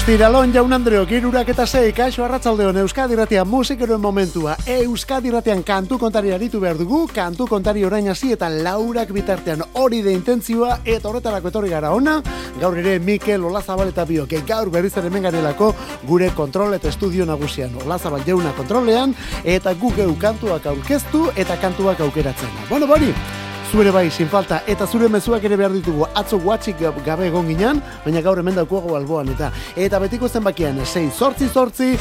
Ostiralon jaun Andreok 3:06 kaixo arratsaldeon Euskadi Irratian musikeroen momentua. Euskadi Irratian kantu kontari aritu behar dugu, kantu kontari orain hasi eta laurak bitartean hori de intentzioa eta horretarako etorri gara ona. Gaur ere Mikel Olazabal eta biok, gaur berriz ere hemen garelako gure kontrol eta estudio nagusian. Olazabal jauna kontrolean eta gu geu kantuak aurkeztu eta kantuak aukeratzen. Bueno, bori, zure bai, sin falta, eta zure mezuak ere behar ditugu. Atzo guatxik gabe egon ginen, baina gaur hemen daukuago alboan, eta betiko zenbakian 688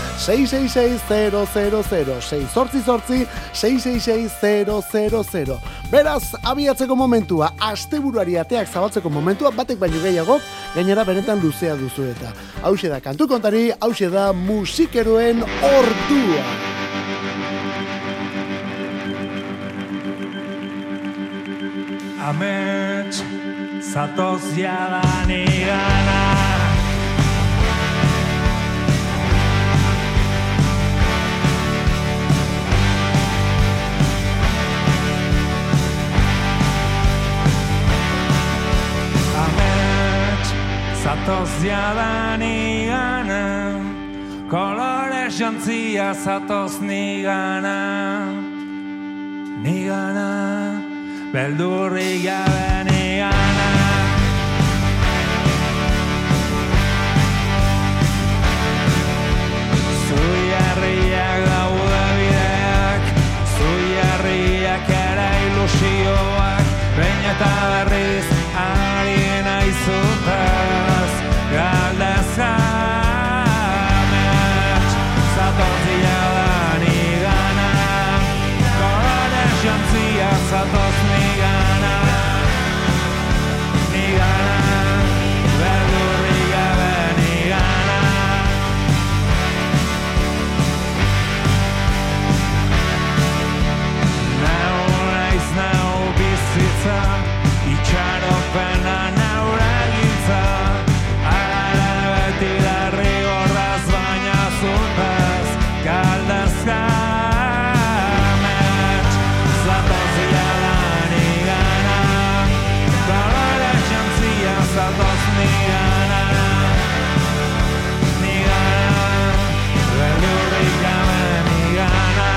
666 000 688 666 Beraz, abiatzeko momentua, asteburuari ateak zabaltzeko momentua, batek baino gehiago, gainera benetan luzea duzu eta. Hauxe da kantu kontari, hauxe da musikeroen ordua. Amets, zatoz jadan igana. Amets, zatoz jadan igana. Kolore jantzia zatoz nigana. Nigana. Beldurri gabe nigana. Zuiarriak daude bideak, zuiarriak ere ilusioak, behin eta berriz ari naizutaz, galdezka amets, zatozia da nigana, kolore jantzia zatoz itxaropena naura gintza, ara beti darri horraz baina zutaz, galdazka amets, zatozia da nigana, kolore jantzia zatoz nigana, beldurrik gabe nigana.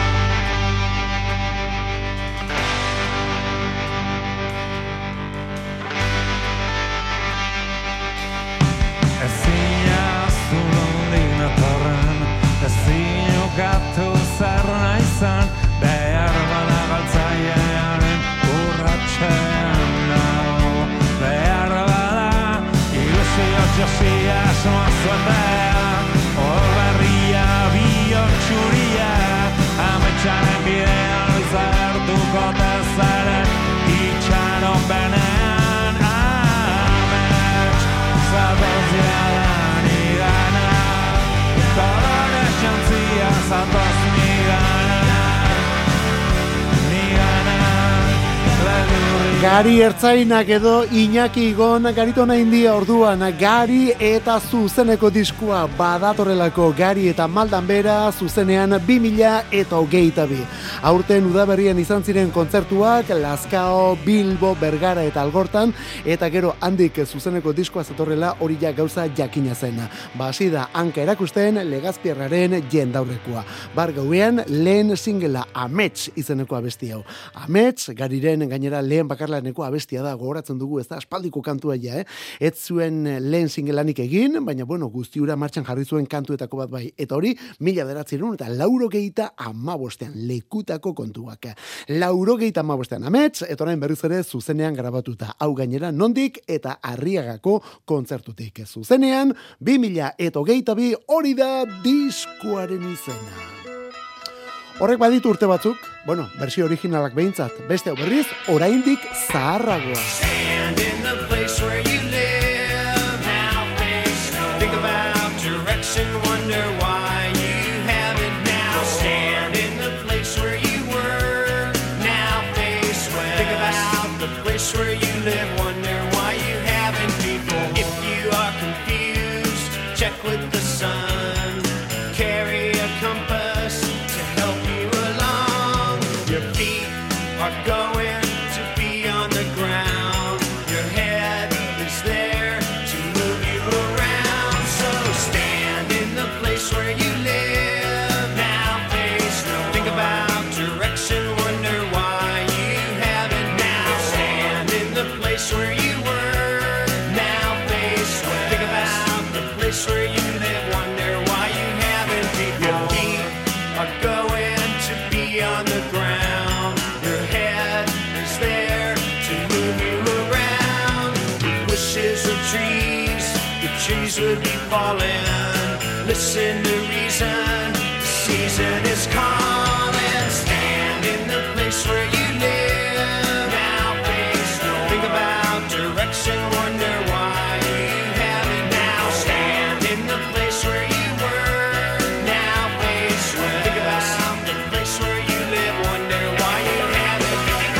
Gatu zer naizan, behar bada galtzailearen urratxean nago. Behar bada, ilusio josia asmoa zuetea, horberria bihotxuria, ametxaren bidean izartuko tezaren, itxaropenean amets, zatozia da nigana, kolore jantzia zatoz nigana, Gari Ertzainak edo Iñaki Igon garitona india orduan, Gari eta zuzeneko diskua badatorrelako, Gari eta Maldan Bera zuzenean 2022. Aurten udaberrian izan ziren kontzertuak Lazkao, Bilbo, Bergara eta Algortan, eta gero handik zuzeneko diskoa zatorrela hori ja gauza jakina zen. Hasi da hanka erakusten Legazpiarraren jendaurrekoa. Bar gauean lehen singela Amets izeneko abesti hau. Amets, Gariren gainera lehen bakarlaneko abestia da, gogoratzen dugu, ez da aspaldiko kantua ja, Ez zuen lehen singelanik egin, baina bueno, guztiura martxan jarri zuen kantuetako bat bai. Eta hori, 1985 lekutako kontuak. 1985 Amets, eta orain berriz ere zuzenean grabatuta. Hau gainera nondik eta Arriagako kontzertutik. Zuzenean, 2022 hori da diskuaren izena. Horrek baditu urte batzuk, bueno, bersio originalak behintzat, beste hau berriz, oraindik zaharragoa. Stand in the place where you live, now face no. Think about direction, wonder why you have it now. Stand in the place where you were, now face west. Think about the place where you live, wonder why you haven't before. If you are confused, check with the sun, carry a compass to help you along. Your feet are going to be on the ground. Your head is there to move you around. So trees would be falling. Listen to reason, the season is calling. Stand in the place where you live. Now face no. Think about direction, wonder why you have it now. Stand in the place where you were. Now face well. Think about the place where you live, wonder why you have it.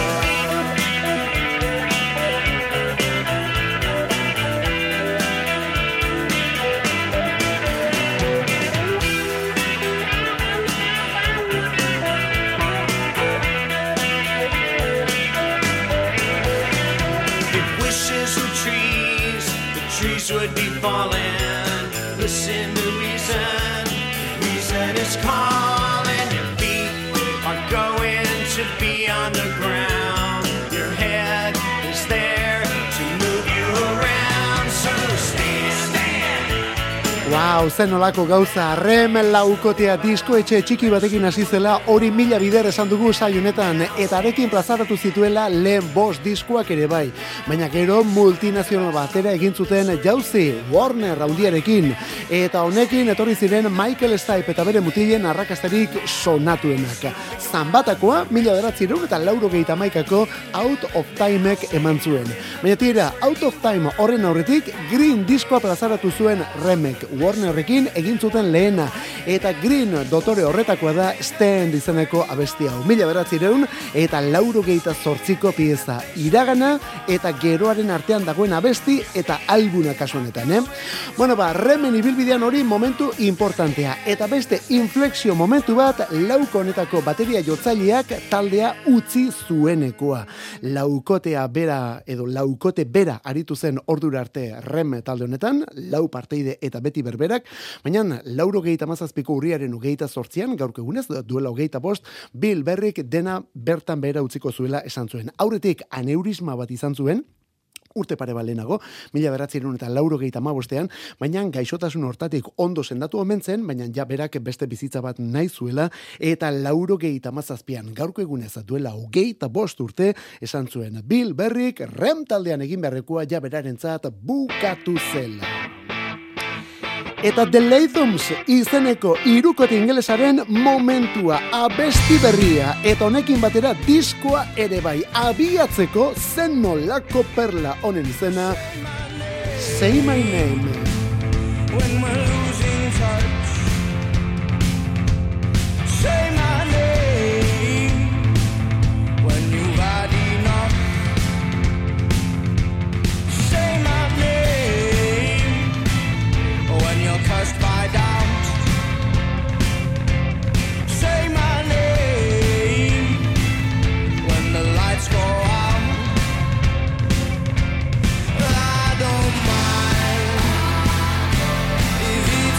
Would be falling. Listen to reason. Reason is calling. Your feet are going to be on the ground. Your head is there to move you around. So stand. Wow, zen olako gauza, Rem laukotea disko etxe txiki batekin hasi zela, hori mila bider esan dugu saionetan, eta arekin plazaratu zituela lehen 5 diskoak ere bai. Baina gero multinazional batera egin zuten jauzi, Warner handiarekin, eta honekin etorri ziren Michael Stipe eta bere mutilen arrakastarik sonatuenak. Zanbatakoa, 1991ko Out of Timek eman zuen. Baina tira, Out of Time horren aurretik Green diskoa plazaratu zuen Remek, Warnerrekin egin zuten lehena, eta Green dotore horretakoa da Stand izeneko abesti hau. 1998ko pieza, iragana eta geroaren artean dagoen abesti eta albuna kasu honetan, Bueno, Remen ibilbidean hori momentu importantea, eta beste inflexio momentu bat lauko honetako bateria jotzaileak taldea utzi zuenekoa. Laukotea bera edo laukote bera aritu zen ordura arte Rem talde honetan, lau parteide eta beti berberak, baina 97ko urriaren 28an, gaurko egunez, duela 25, Bill Berrick dena bertan behera utziko zuela esan zuen. Aurretik aneurisma bat izan zuen, urte pare balenago, 1995, baina gaixotasun hortatik ondo sendatu omen zen, baina ja berak beste bizitza bat nahi zuela, eta 97an, gaurko egunez duela 25 urte, esan zuen Bill Berrick Rem taldean egin beharrekoa ja berarentzat bukatu zela. Eta The Lathoms izeneko hirukote ingelesaren momentua, abesti berria, eta honekin batera diskoa ere bai, abiatzeko zen nolako perla honen izena, Say My Name. When we're losing touch, say my name. When you've had enough, say my name. When you're cursed by doubt, say my name. When the lights go out, I don't mind if you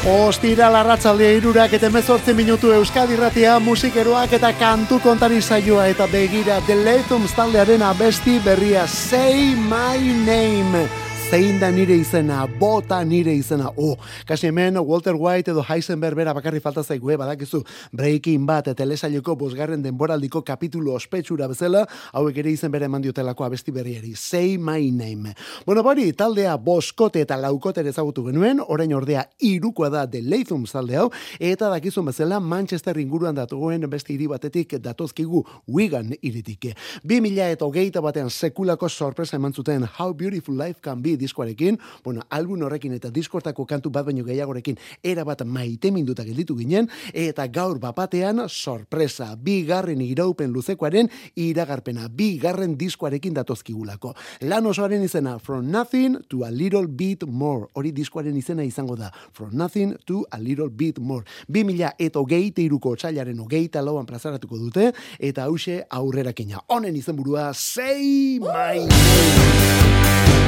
Ostiral arratsaldea 3 eta 18 minutu Euskadi Irratia musikeroak eta kantu kontari saioa eta begira The Latums taldearen abesti berria Say My Name. Zein da nire izena, bota nire izena. Kasi hemen Walter White edo Heisenberg bera bakarri falta zaigu, badakizu Breaking Bad telesaileko 5. denboraldiko kapitulu ospetsura bezala, hauek ere izen bere eman diotelako abesti berriari. Say My Name. Bueno, bari, taldea 5 eta 4 ezagutu genuen, orain ordea 3 da The Latums talde hau, eta dakizun bezala Manchester inguruan datugoen beste hiri batetik datozkigu Wigan hiritik. 2021 batean sekulako sorpresa eman zuten How Beautiful Life Can Be diskoarekin, album horrekin eta diskortako kantu bat baino gehiagorekin erabat maiteminduta gelditu ginen, eta gaur bapatean sorpresa, 2. iraupen luzekoaren iragarpena, 2. diskoarekin datozkigulako. Lan osoaren izena From Nothing to a Little Bit More, hori diskoaren izena izango da, From Nothing to a Little Bit More. 2023ko otsailaren 24an plazaratuko dute, eta hause aurrerakina. Honen izenburua Say My Name.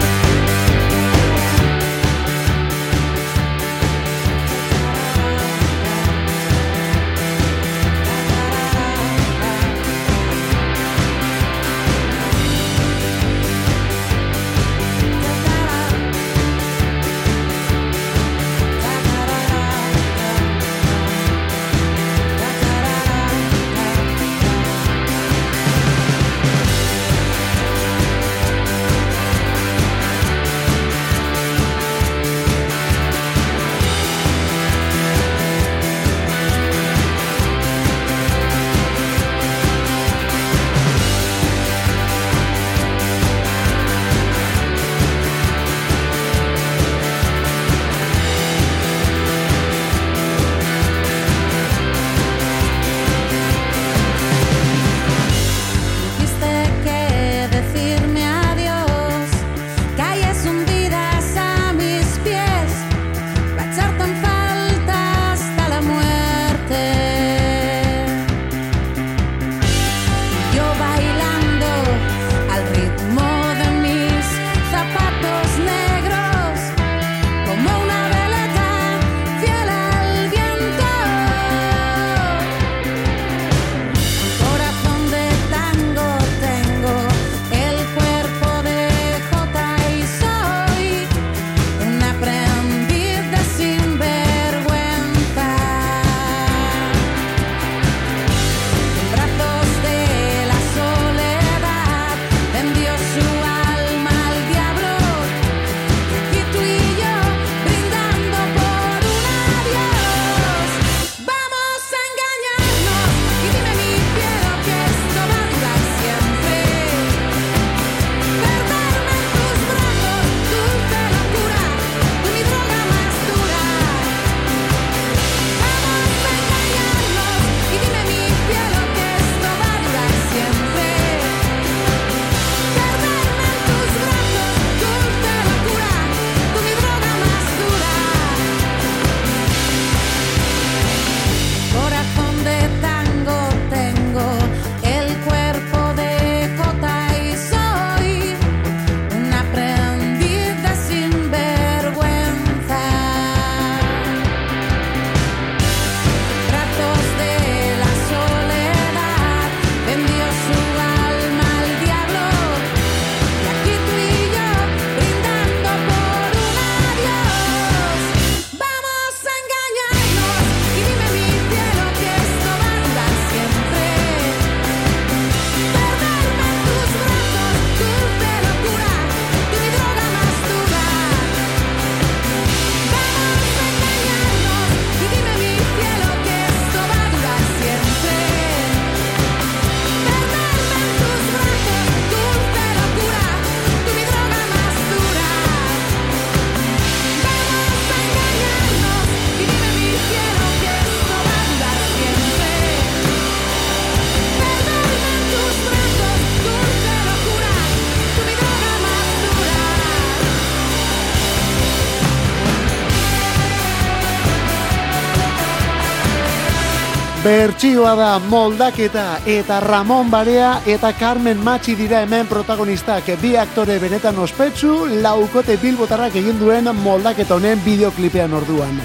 Bertsioa da moldaketa eta Ramon Barea eta Carmen Machi dira hemen protagonistak, bi aktore benetan ospetsu, laukote bilbotarrak egin duen moldaketa honen bideoklipean orduan.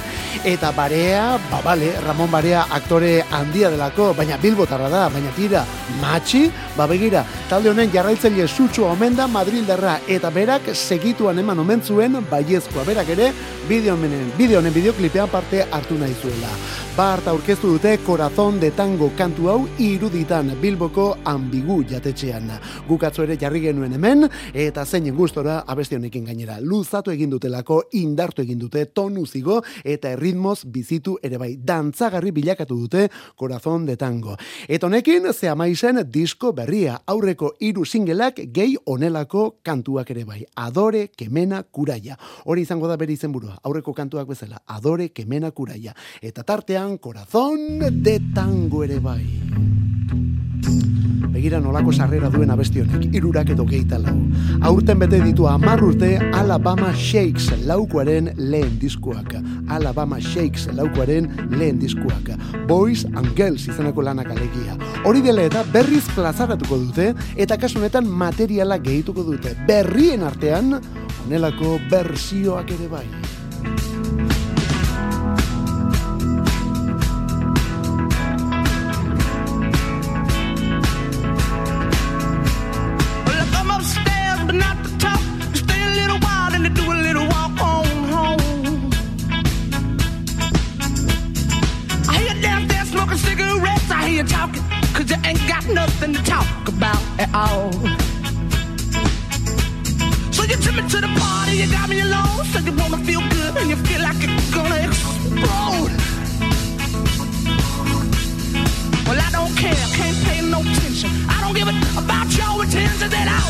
Eta Barea, bale, Ramon Barea aktore handia delako, baina bilbotarra da, baina tira, matxi, begira, talde honen jarraitzaile sutsu omen da Madrildarra, eta berak segituan eman omen zuen baiezkoa, berak ere, bideo honen bideoklipean parte hartu nahi zuela. Bart aurkeztu dute Corazón de Tango kantu hau iruditan Bilboko Ambigu jatetxean. Gukatzu ere jarri genuen hemen, eta zeinen gustora abesti honekin gainera. Luzatu egin dutelako, indartu egin dute, tonu zigo, eta erritmoz bizitu ere bai. Dantzagarri bilakatu dute Corazón de Tango. Eta honekin, ze amaizen disko berria, aurreko 3 singleak gehi onelako kantuak ere bai. Adore, Kemena, Kuraia. Hori izango da bere izenburua, aurreko kantuak bezala. Adore, Kemena, Kuraia. Eta tartean, Corazón de Tango ere bai. Begira nolako sarrera duen abesti honek, 324. Aurten bete ditu 10 urte Alabama Shakes laukoaren lehen diskuak. Alabama Shakes laukoaren lehen diskuak. Boys and Girls izeneko lanak alegia. Hori dela eta berriz plazaratuko dute, eta kasu honetan materiala gehituko dute. Berrien artean, honelako bersioak ere bai. You talking, cause you ain't got nothing to talk about at all. So you took me to the party, you got me alone, so you wanna feel good and you feel like it's gonna explode. Well, I don't care, can't pay no attention. I don't give a about your intentions at all.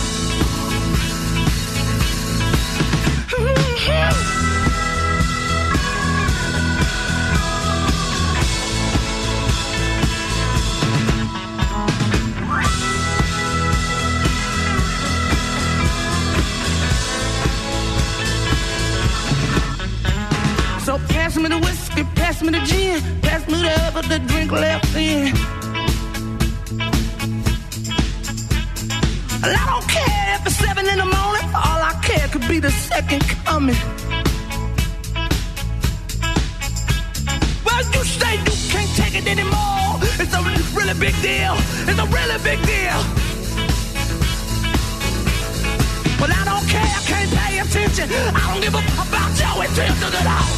So pass me the whiskey, pass me the gin, pass me the drink left in. Well, I don't care if it's 7 in the morning, all I care could be the second coming. Well, you say you can't take it anymore. It's a really big deal. It's a really big deal. Well, I don't care, I can't pay attention. I don't give a about your intentions at all.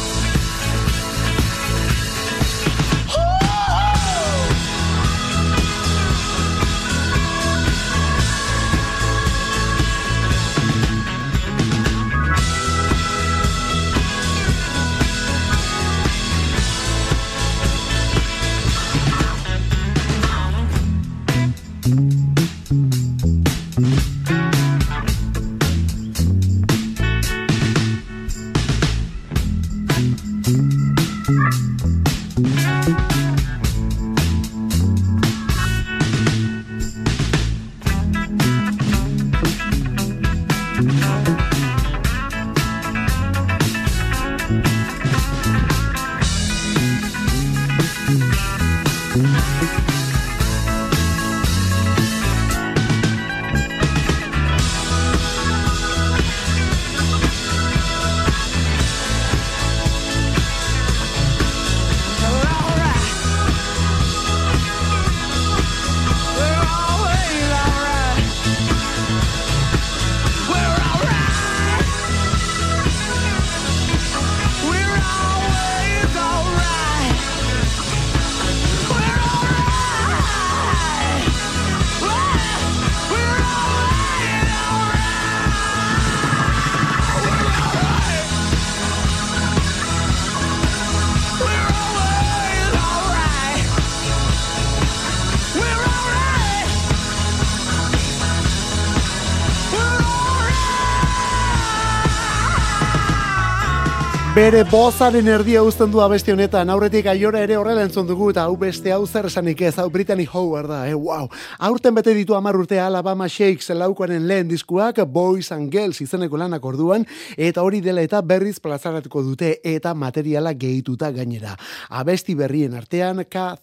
Bere bozaren erdia uzten du abesti honetan, aurretik aiora ere horrela entzun dugu, eta hau beste hau zer esanik ez, hau Brittany Howard da, wow. Aurten bete ditu 10 urte Alabama Shakes laukoaren lehen diskuak, Boys and Girls izeneko lanak orduan, eta hori dela eta berriz plazaratuko dute, eta materiala gehituta gainera. Abesti berrien artean,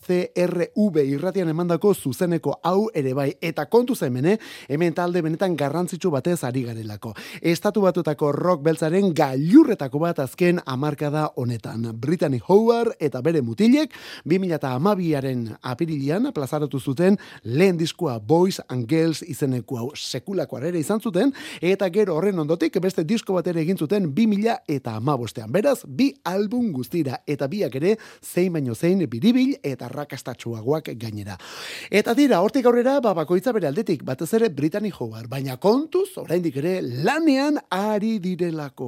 KCRV irratian emandako zuzeneko hau ere bai, eta kontu zemene, hemen talde benetan garrantzitsu batez ari garelako. Estatu Batuetako rock beltzaren gailurretako bat azken hamarkada honetan. Brittany Howard eta bere mutilek 2012aren apirilean plazaratu zuten lehen diskoa Boys and Girls izeneko hau sekulako arrera izan zuten, eta gero horren ondotik beste disko bat ere egin zuten 2015ean. Beraz, bi album guztira, eta biak ere zein baino zein biribil eta rakastatsuagoak gainera. Eta dira, hortik aurrera, bakoitza bere aldetik, batez ere Brittany Howard, baina kontuz, oraindik ere lanean ari direlako.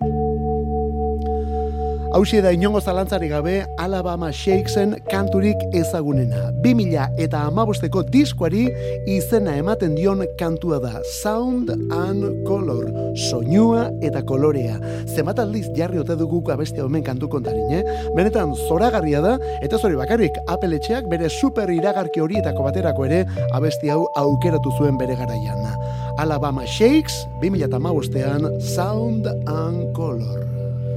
Hauxe da inongo zalantzari gabe Alabama Shakesen kanturik ezagunena. 2015ko diskoari izena ematen dion kantua da Sound and Color, soinua eta kolorea. Zenbat aldiz jarri ote dugu abestia hemen kantu kontarin, Benetan zoragarria da, eta zori bakarrik Apple etxeak bere super iragarki horietako baterako ere abesti hau aukeratu zuen bere garaian. Alabama Shakes, 2015ean Sound and Color.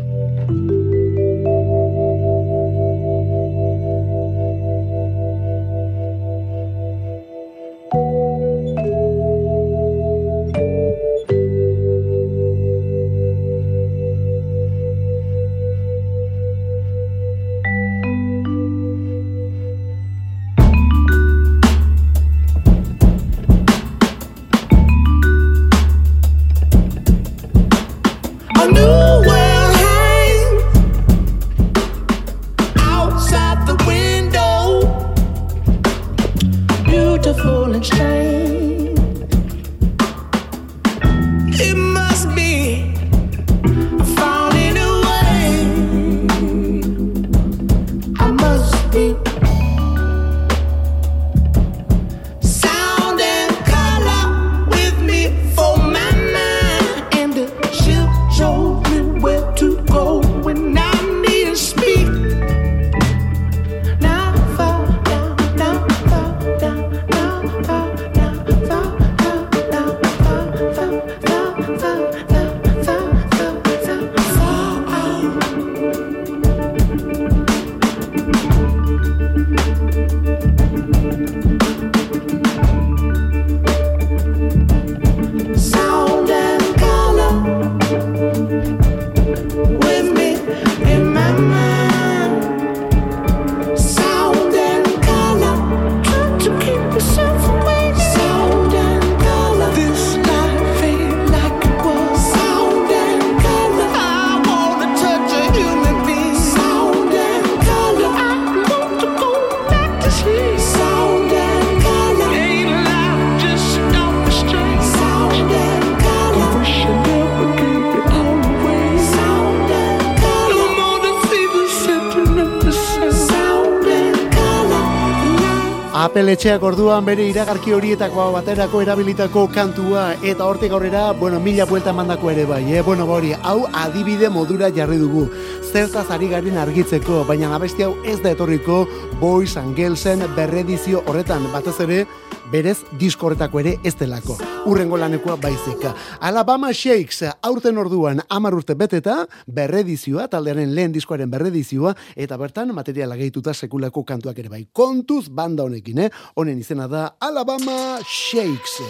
Apple etxeak orduan bere iragarki horietako baterako erabilitako kantua, eta hortik aurrera, mila buelta mandako ere bai, hori, hau adibide modura jarri dugu. Zertaz ari garen argitzeko, baina abesti hau ez da etorriko Boys and Girlsen berredizio horretan, batez ere, berez disko horretako ere ez delako. Urrengo lanekoa baizika. Alabama Shakes aurten orduan 10 urte beteta, berredizioa, taldearen lehen diskoaren berredizioa, eta bertan materiala gehituta sekulako kantuak ere bai. Kontuz banda honekin, honen izena da Alabama Shakes.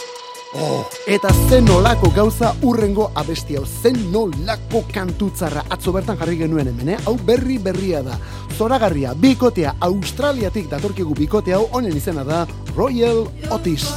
Eta zen nolako gauza urrengo abesti hau, zen nolako kantutzarra atzo bertan jarri genuen hemen, hau berria da. Zoragarria, bikotea, Australiatik datorkigu bikote hau, honen izena da Royal Otis.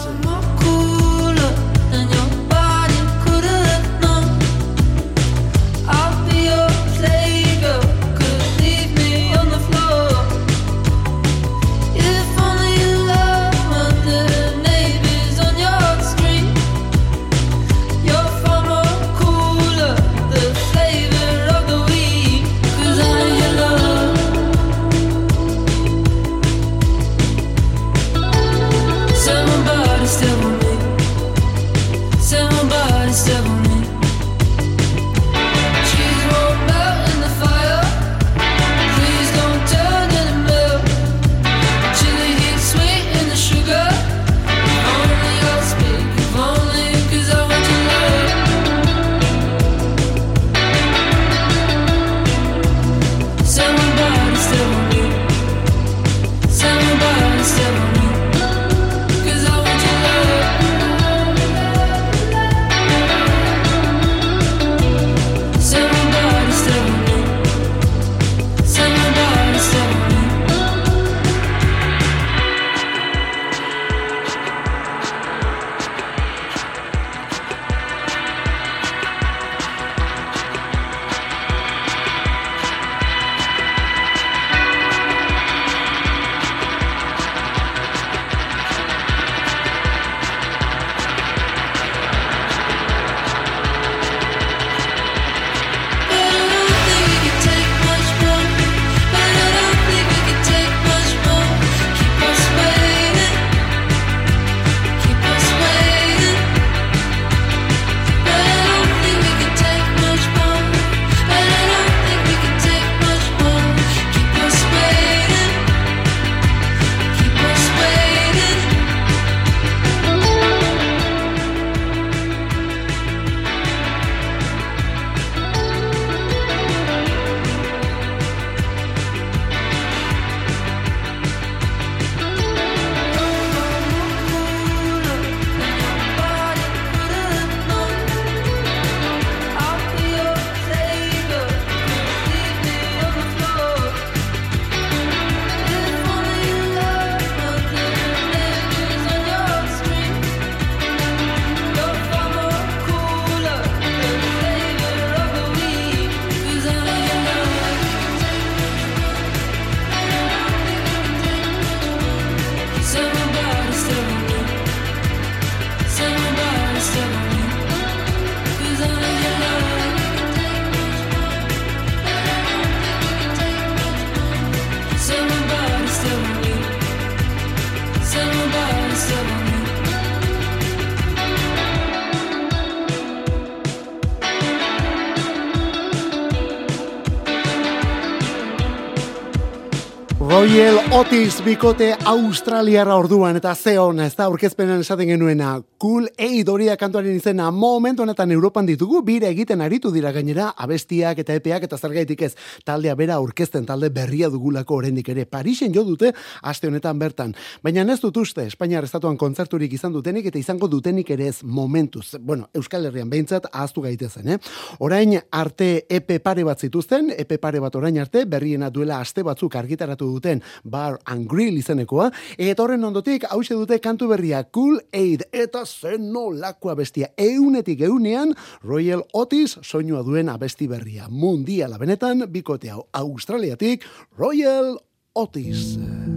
Royal Otis bikote australiarra orduan eta zeon, ez da aurkezpenan esaten genuena. Cool Aid horia kantuaren izena momentu honetan Europan ditugu, bira egiten aritu dira gainera, abestiak eta epeak eta zergaitik ez. Taldea bera aurkezten talde berria dugulako oraindik ere. Parisen jo dute aste honetan bertan. Baina ez dut uste, Espainiar estatuan kontzerturik izan dutenik eta izango dutenik ere ez momentuz. Bueno, Euskal Herrian behintzat ahaztu gaitezen, Orain arte epe pare bat zituzten, epe pare bat orain arte, berriena duela aste batzuk argitaratu duten Bar and Grill izenekoa, eta horren ondotik hause dute kantu berria Cool Aid, eta zen nolakoa bestia, eunetik eunean Royal Otis soinua duen abesti berria, mundiala benetan, bikote hau Australiatik Royal Otis.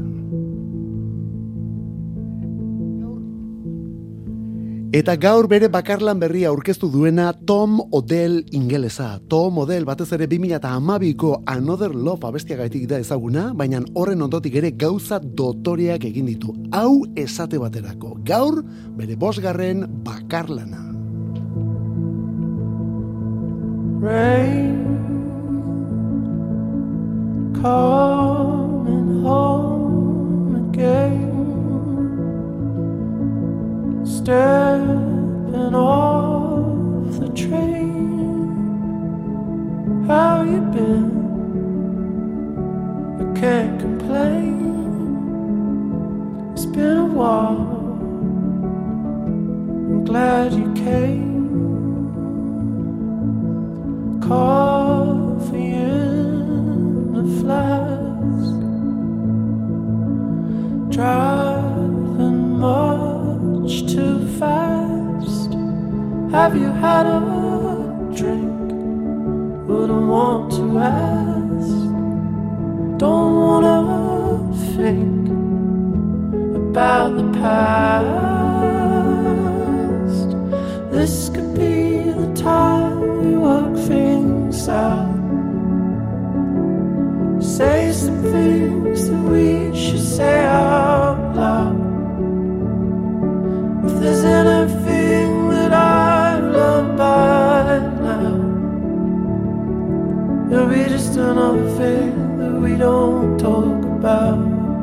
Eta gaur bere bakarlan berria aurkeztu duena Tom Odell ingelesa. Tom Odell batez ere 2012ko Another Love abestiagaitik da ezaguna, baina horren ondotik ere gauza dotoreak egin ditu. Hau esate baterako. Gaur bere 5. bakarlana. Rain coming home again, stepping off the train. How you been? I can't complain. It's been a while. I'm glad you came. Coffee in a flask, driving much too fast. Have you had a drink? Wouldn't want to ask. Don't wanna think about the past. This could be the time we work things out. Say some things that we should say out loud. If there's anything that I've learned by now, it'll be just another thing that we don't talk about.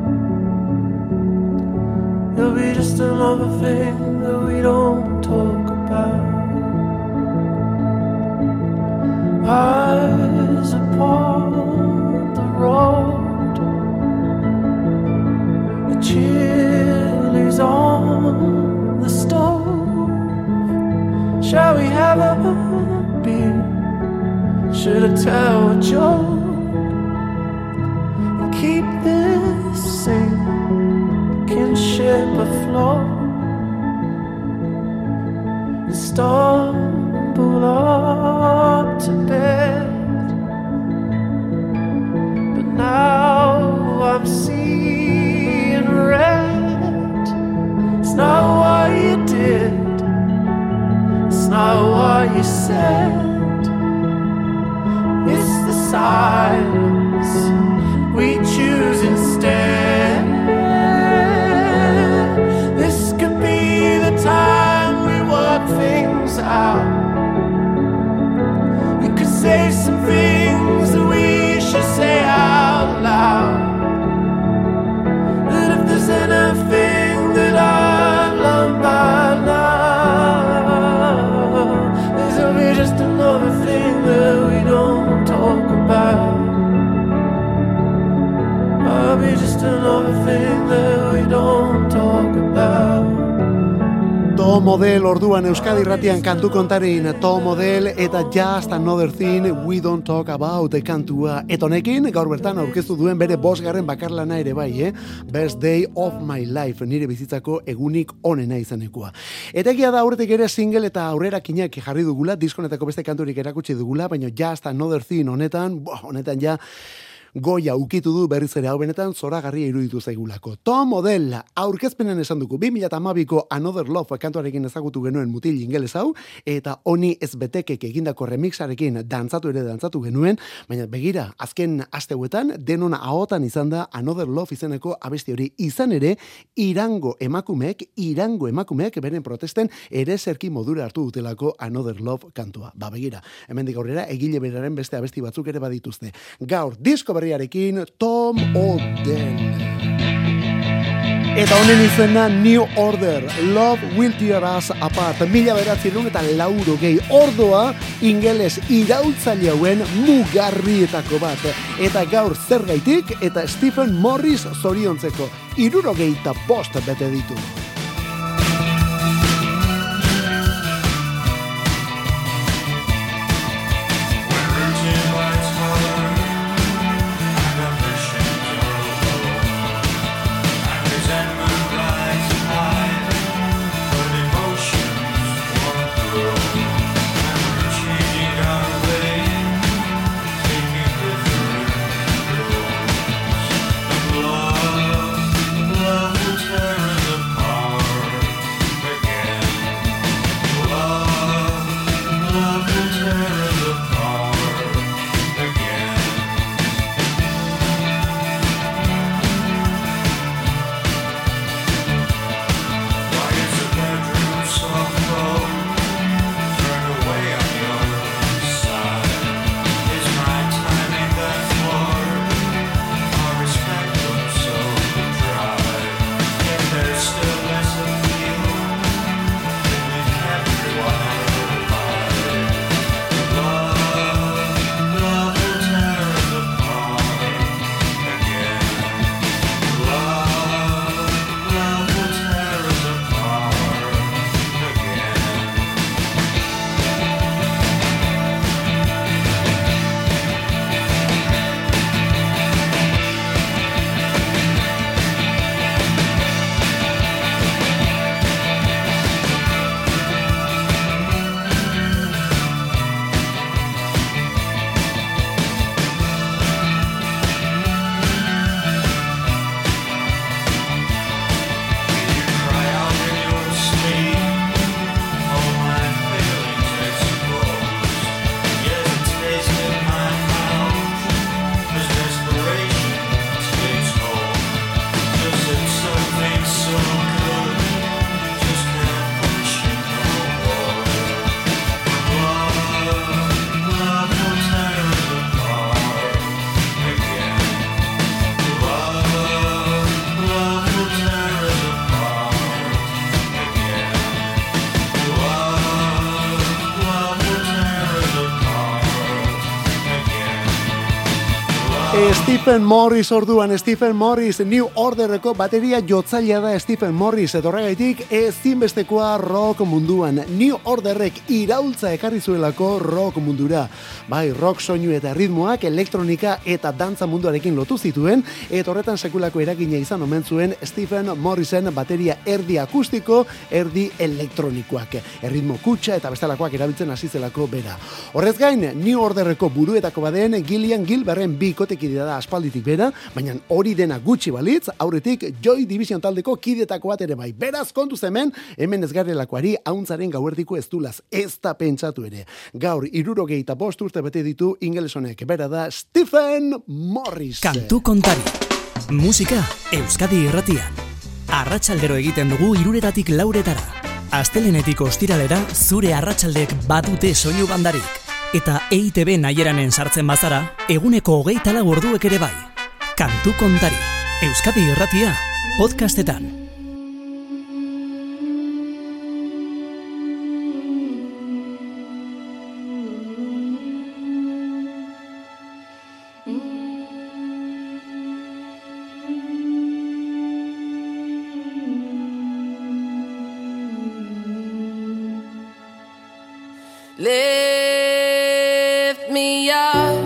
It'll be just another thing that we don't talk about. Eyes upon the road, the chilies on the stove. Shall we have a beer? Should I tell a joke and keep this sinking ship afloat? And stumble up to bed, but now I'm seeing red. It's not what you did, it's not what you said. It's the silence we choose instead. This could be the time we work things out. We could say some things that we should say out loud. And if there's anything that I've learned by now, this'll be just another thing that we don't talk about. I'll be just another thing that we don't talk about. Tom Odell orduan Euskadi Irratian kantu kontarin, Tom Odell eta Just Another Thing We Don't Talk About kantua. Eta honekin gaur bertan aurkeztu duen bere 5. bakarlana ere bai, Best Day of My Life, nire bizitzako egunik onena izanekoa. Eta egia da aurretik ere single eta aurrerakinak jarri dugula, diskonetako beste kanturik erakutsi dugula, baina Just Another Thing honetan ja goia ukitu du berriz ere hau benetan zoragarria iruditu zaigulako. Tom Odell aurkezpenen esan dugu 2012ko Another Love kantuarekin ezagutu genuen mutil ingeles hau, eta honi ez betekek egindako remixarekin dantzatu genuen, baina begira, azken asteuetan denona ahotan izan da Another Love izeneko abesti hori. Izan ere, Irango emakumeek beren protesten ere zerki modura hartu dutelako Another Love kantua. Begira, hemendik aurrera egile beraren beste abesti batzuk ere badituzte. Gaur, disko berriarekin, Tom Odell. Eta honen izena New Order, Love Will Tear Us Apart, 1980 ordoa ingeles iraultzaile hauen mugarrietako bat. Eta gaur zergaitik eta Stephen Morris zoriontzeko 65 bete ditu. Stephen Morris orduan, Stephen Morris, New Orderreko bateria jotzailea da Stephen Morris, etorregaitik ezinbestekoa rock munduan. New Orderrek iraultza ekarri zuelako rock mundura. Bai, rock soinu eta ritmoak elektronika eta dantza munduarekin lotu zituen, eta horretan sekulako eragina izan omen zuen Stephen Morrisen bateria erdi akustiko, erdi elektronikoak. Erritmo kutxa eta bestelakoak erabiltzen hasi zelako bera. Horrez gain, New Orderreko buruetako baden Gillian Gilberren bikotekidea da aspalditik bera, baina hori dena gutxi balitz, aurretik Joy Division taldeko kidetako bat ere bai. Beraz, kontuz hemen ez garelakoari hauntzaren gauerdiko ez dulaz, ez da pentsatu ere. Gaur, 65 urte bete ditu ingelesonek, bera da Stephen Morris. Kantu kontari. Musika Euskadi Irratian. Arratsaldero egiten dugu 3:00 tik 4:00. Astelenetik ostiralera zure arratsaldek badute soinu bandarik. Eta EITB nahieranен sartzen bazara, eguneko 24 orduek ere bai. Kantu kontari. Euskadi Irratia podcastetan. Lift me up,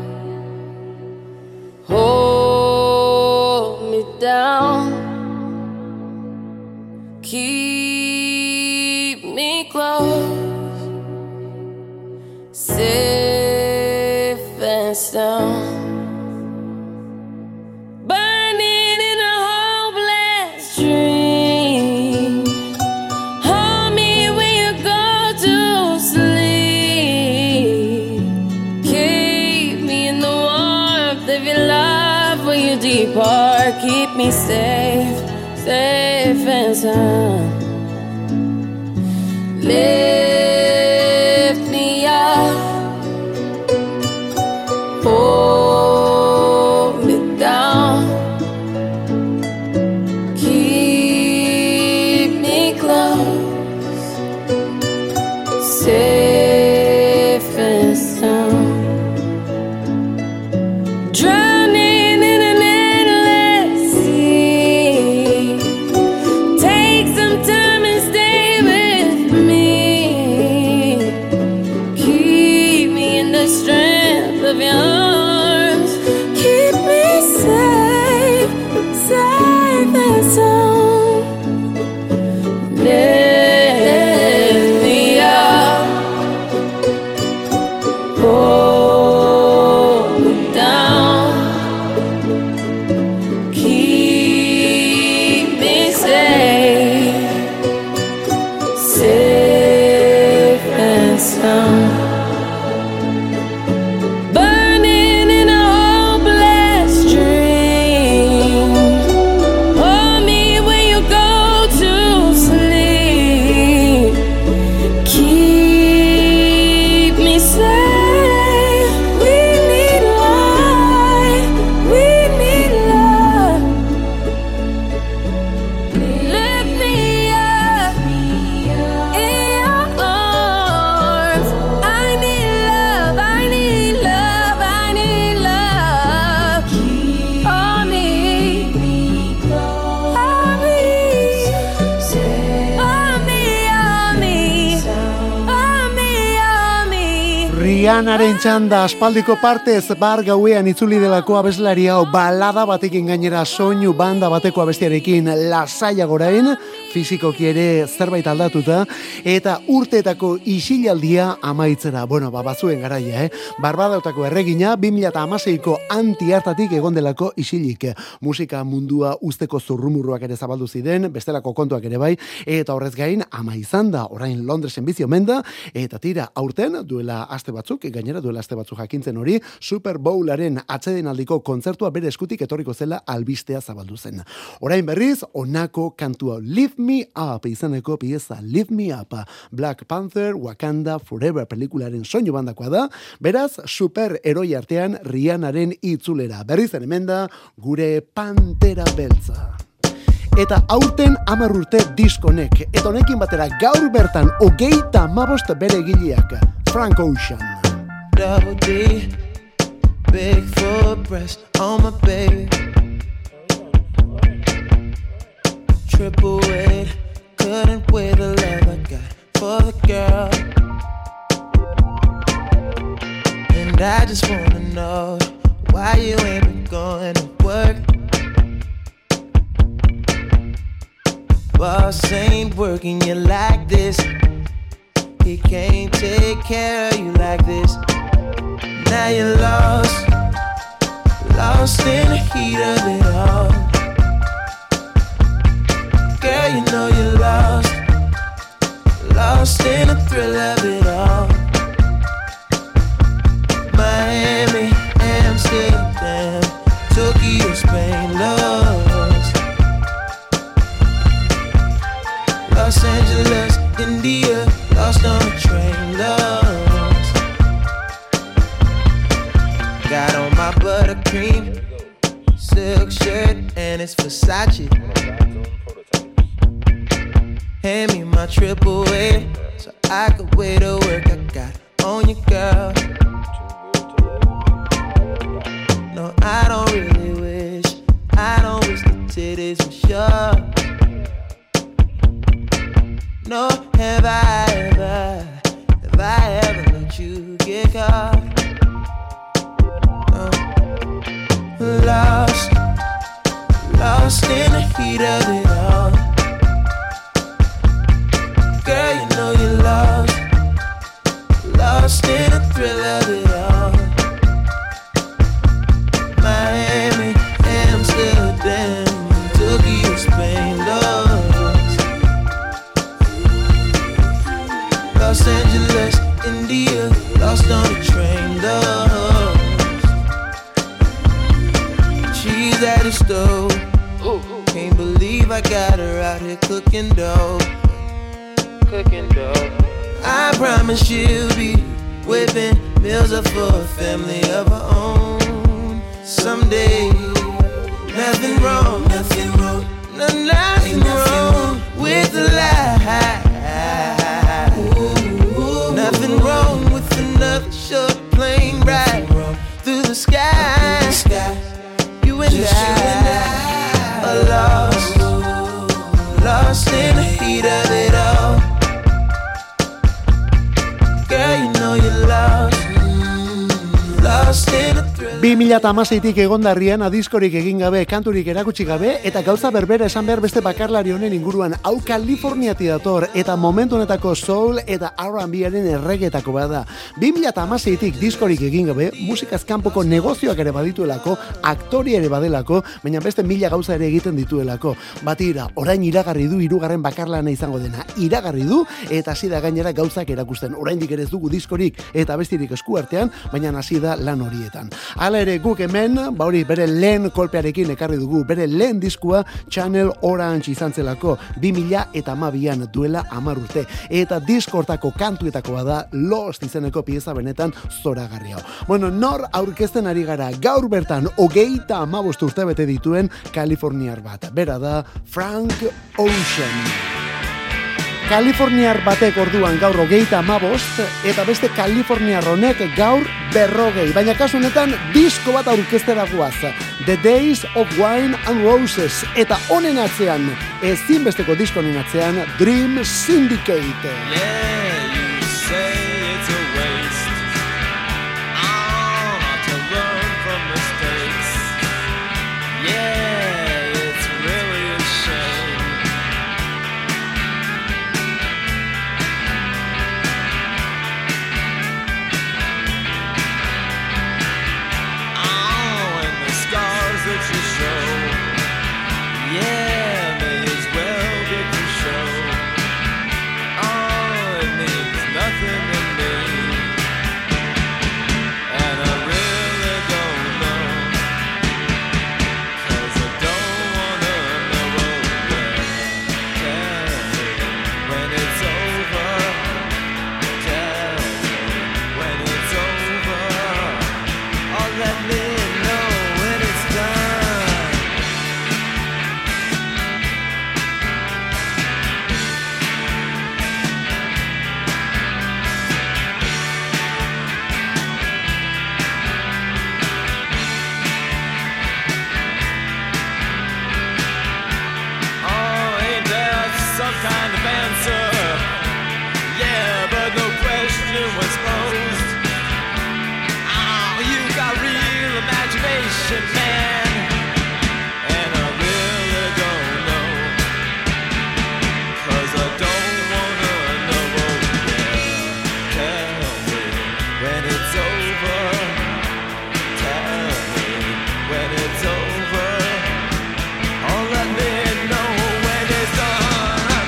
hold me down, keep me close, safe and sound. Burning in a hopeless dream, hold me when you go to sleep, keep me in the warmth of your love when you depart, keep me safe, safe and sound. Lift me up, hold Rihanaren txanda aspaldiko partez bar gauean itzuli delako abeslari hau balada batekin gainera soinu banda bateko abestiarekin lasaiagorain, fizikoki ere zerbait aldatuta, eta urteetako isilaldia amaitzera. Bueno, bazuen garaia, Barbadautako erregina 2016ko anti-hartatik egon delako isilik. Musika mundua usteko zurrumurruak ere zabaldu ziren, bestelako kontuak ere bai, eta horrez gain ama izan da, orain Londresen bizi omen da, eta tira, aurten duela aste batzuk jakintzen hori, Super Bowlaren atsedenaldiko kontzertua bere eskutik etorriko zela albistea zabaldu zen. Orain berriz, onako kantua Lift Me Up izaneko pieza Lift Me Up, Black Panther, Wakanda Forever pelikularen soinu bandakoa da, beraz, super heroi artean Rihanaren itzulera. Berriz hemen da, gure Pantera Beltza. Eta aurten 10 urte diskonek, eta honekin batera gaur bertan 35 bere egileak, Frank Ocean. Double D, big full breast on my baby. Triple weight, couldn't weigh the love I got for the girl. And I just wanna know why you ain't been going to work. Boss ain't working you like this. He can't take care of you like this. Now you're lost in the heat of it all. Girl, you know you're lost in the thrill of it all. Miami, Amsterdam, Tokyo, Spain, lost. Los Angeles, India, lost on a train, lost. Got on my buttercream silk shirt and it's Versace. Hand me my triple A so I could weigh the work I got on you, girl. No, I don't really wish the titties were sure. No, have I ever let you get caught? Lost in the heat of it all. Girl, you know you're lost in the thrill of it all. Miami, Amsterdam, Tokyo, Spain, lost. Los Angeles, India, lost on a train, lost. She's at the stove. Can't believe I got her out here cooking dough. I promise she'll be whipping meals up for a family of her own someday. Nothing wrong with the lie. Nothing wrong with another short plane ride through the sky. You and I are lost in the heat of it all. Girl, you know you're lost in the thrill. 2016tik egondarrian adiskorik egin gabe, kanturik erakutsi gabe, eta gauza berbera esan behar beste bakarlari honen inguruan, hau Kaliforniati dator, eta momentu honetako soul eta R&Baren erregetako bada. 2016tik diskorik egin gabe, musikaz kanpoko negozioak ere badituelako, aktori ere badelako, baina beste 1000 gauza ere egiten dituelako. Batira, orain iragarri du 3. bakarlana izango dena. Iragarri du, eta hasi da gainera gauzak erakusten. Oraindik ere ez dugu diskorik eta bestirik eskuartean, baina hasi da lan horietan. Hala ere guk hemen, hori bere lehen kolpearekin ekarri dugu, bere lehen diskua Channel Orange izan zelako 2012an duela 10 urte. Eta diskortako kantuetakoa da Lost izeneko pieza benetan zoragarri hau. Bueno, nor aurkezten ari gara gaur bertan 35 urte bete dituen Kaliforniar bat. Bera da Frank Ocean. Kaliforniar batek orduan gaur 35 eta beste Kaliforniar honek gaur 40. Baina kasu honetan disko bat aurkeztera goaz. The Days of Wine and Roses. Eta honen atzean, ezinbesteko disko honen atzean, Dream Syndicate. Yeah, you say it's a waste. when it's over. Tell me when it's over. Or let me know when it's done. Oh, ain't there some kind of answer? Yeah, but no question was posed. Oh, you got real imagination, man. And I really don't know. 'Cause I don't wanna know. Oh, yeah. Tell me when it's over. Tell me when it's over. Oh, let me know when it's done.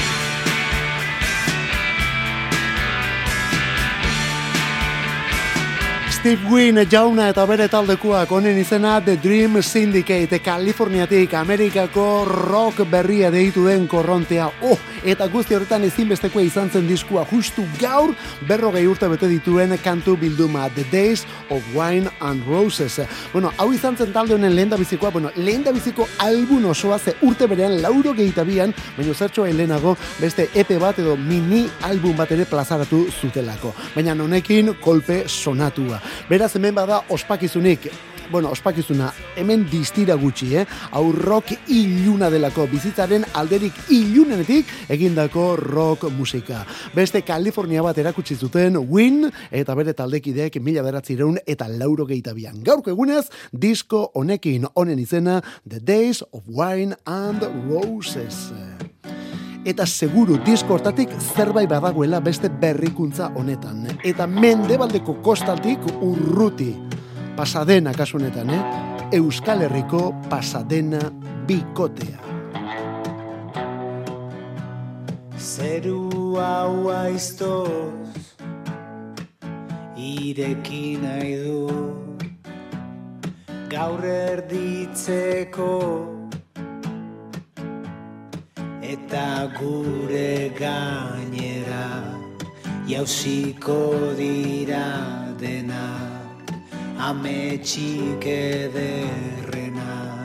Steve Wynn jauna eta bere taldekoak honen izena The Dream Syndicate, Kaliforniatik Amerikako rock berria deitu den korrontea. Eta guzti horretan ezinbestekoa izan zen diskua justu gaur 40 urte bete dituen kantu bilduma The Days of Wine and Roses. Bueno, hau izan zen talde honen lehendabizikoa, lehendabiziko album osoa ze urte berean 82an, baina zertxoa helenago beste EP bat edo mini album bat ere plazaratu zutelako. Baina honekin kolpe sonatua. Beraz hemen bada ospakizunik. Bueno, ospakizuna hemen distira gutxi, hau rock iluna delako, bizitzaren alderik ilunenetik egindako rock musika. Beste Kalifornia bat erakutsi zuten Wynn eta bere taldekideek 1982an. Gaurko egunez, disko honekin honen izena The Days of Wine and Roses. Eta seguru disko hortatik zerbait badagoela beste berrikuntza honetan. Eta mendebaldeko kostaltik urruti. Pasadena kasu honetan, Euskal Herriko Pasadena bikotea. Zeru hau aiztoz ireki nahi du gaur erditzeko eta gure gainera jauziko dira dena ametxik ederrena.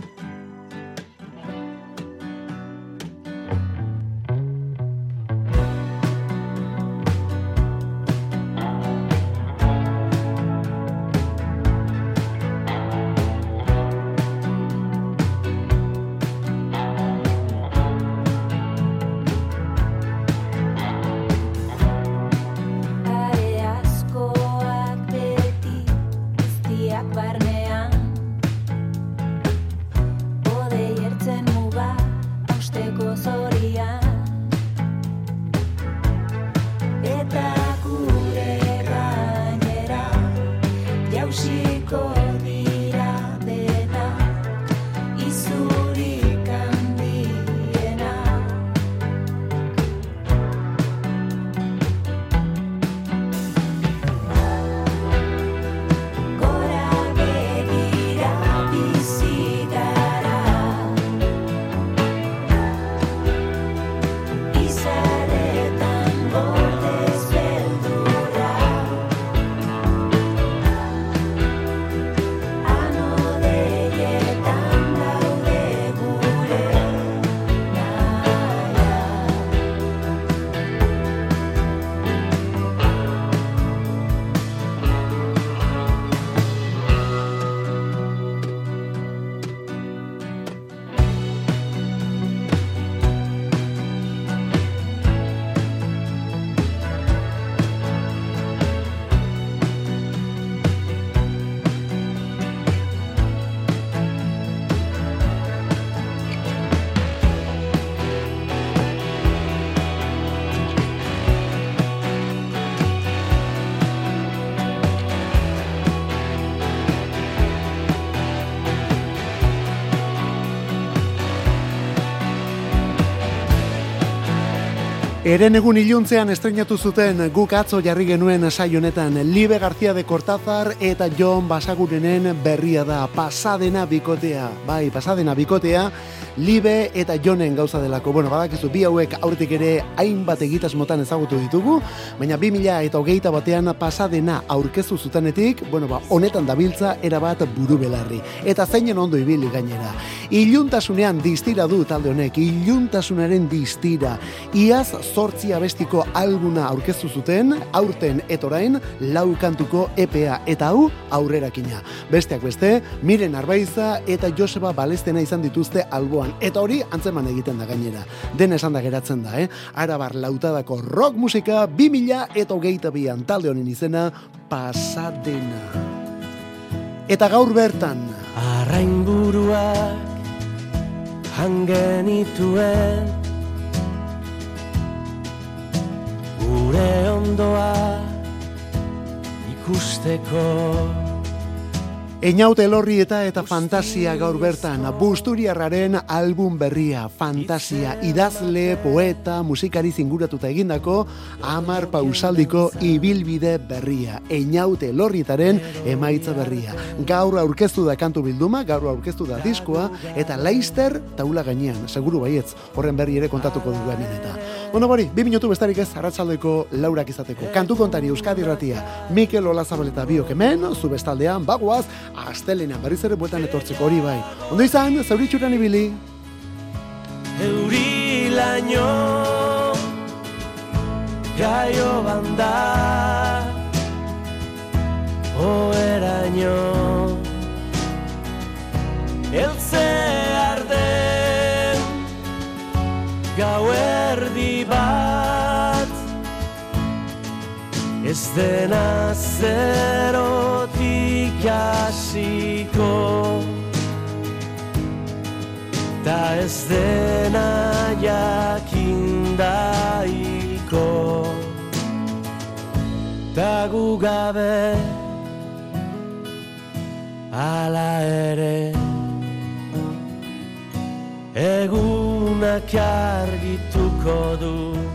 Eren egun iluntzean estrenatu zuten guk atzo jarri genuen saio honetan Libe García de Cortázar eta Jon Basagurenen berria da Pasadena bikotea. Bai, Pasadena bikotea Libe eta Jonen gauza delako. Bueno, badakizu bi hauek aurretik ere hainbat egitasmotan ezagutu ditugu, baina 2021 batean pasadena aurkeztu zutenetik, honetan dabiltza erabat buru belarri. Eta zeinen ondo ibili gainera. Iluntasunean distira du talde honek, iluntasunaren distira. Iaz 8 abestiko albuna aurkeztu zuten, aurten etorain 4 kantuko EPA, eta hau aurrerakina. Besteak beste, Miren Arbaiza eta Joseba Balestena izan dituzte alboan, eta hori antzeman egiten da gainera. Den esan da geratzen da, Arabar lautadako rock musika 2022an talde honen izena Pasadena. Eta gaur bertan Arrainburuak hangenituen gure ondoa ikusteko. Einaute Elorrieta eta Fantasia gaur bertan, Busturiarraren album berria, Fantasia, idazle, poeta, musikari zinguratuta egindako 10 pausaldiko ibilbide berria, Einaute Elorrietaren emaitza berria. Gaur aurkeztu da kantu bilduma, gaur aurkeztu da diskoa, eta Leister taula gainean, seguru baietz, horren berri ere kontatuko dugu hemen eta. Bueno, bori, 2 minutu bestarik ez arratsaldeko 4 izateko. Kantu kontari Euskadi Irratia, Mikel Olazabal eta biok hemen, zu bestaldean, bagoaz, astelenean berriz ere bueltan etortzeko hori bai. Ondo izan, zauritxuran ibili. Eurilaino gaio banda oeraino eltze arden gauerdi bat ez dena zerotik hasiko ta ez dena jakindaiko ta gu gabe ala ere egunak argituko du.